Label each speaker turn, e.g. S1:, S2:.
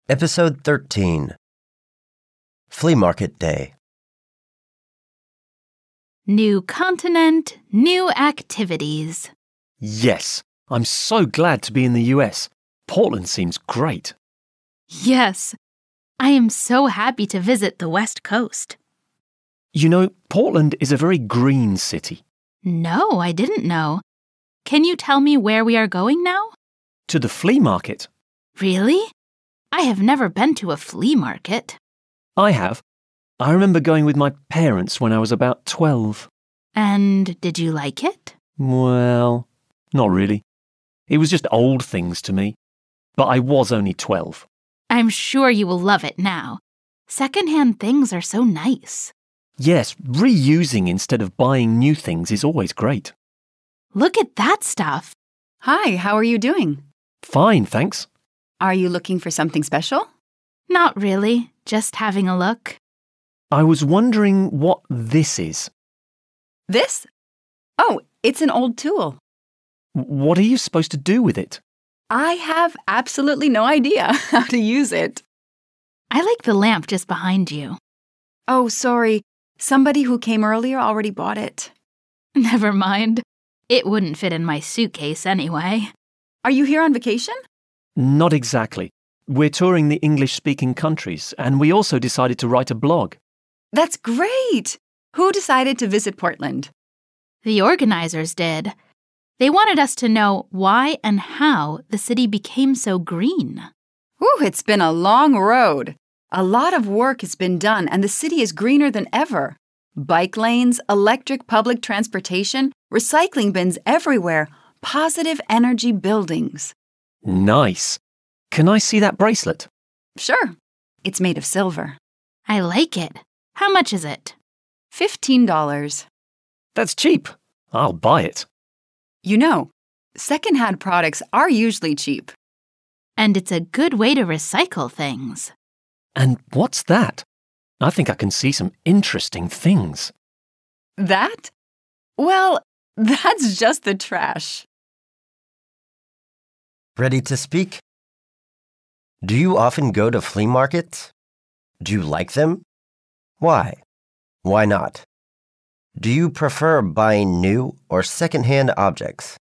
S1: Episode 13 Flea Market Day.
S2: New continent, new activities.
S3: Yes, I'm so glad to be in the US. Portland seems great.
S2: Yes, I am so happy to visit the West Coast.
S3: You know, Portland is a very green city.
S2: No, I didn't know. Can you tell me where we are going now?
S3: To the flea market.
S2: Really? I have never been to a flea market.
S3: I have. I remember going with my parents when I was about 12.
S2: And did you like it?
S3: Well, not really. It was just old things to me. But I was only 12.
S2: I'm sure you will love it now. Second-hand things are so nice.
S3: Yes, reusing instead of buying new things is always great.
S2: Look at that stuff.
S4: Hi, how are you doing?
S3: Fine, thanks.
S4: Are you looking for something special?
S2: Not really, just having a look.
S3: I was wondering what this is.
S4: This? Oh, it's an old tool.
S3: What are you supposed to do with it?
S4: I have absolutely no idea how to use it.
S2: I like the lamp just behind you.
S4: Oh, sorry. Somebody who came earlier already bought it.
S2: Never mind. It wouldn't fit in my suitcase anyway.
S4: Are you here on vacation?
S3: Not exactly. We're touring the English-speaking countries, and we also decided to write a blog.
S4: That's great! Who decided to visit Portland?
S2: The organizers did. They wanted us to know why and how the city became so green.
S4: Ooh, it's been a long road. A lot of work has been done, and the city is greener than ever. Bike lanes, electric public transportation, recycling bins everywhere, positive energy buildings.
S3: Nice. Can I see that bracelet?
S4: Sure. It's made of silver.
S2: I like it. How much is it?
S4: $15.
S3: That's cheap. I'll buy it.
S4: You know, second-hand products are usually cheap.
S2: And it's a good way to recycle things.
S3: And what's that? I think I can see some interesting things.
S4: That? Well, that's just the trash.
S1: Ready to speak? Do you often go to flea markets? Do you like them? Why? Why not? Do you prefer buying new or second-hand objects?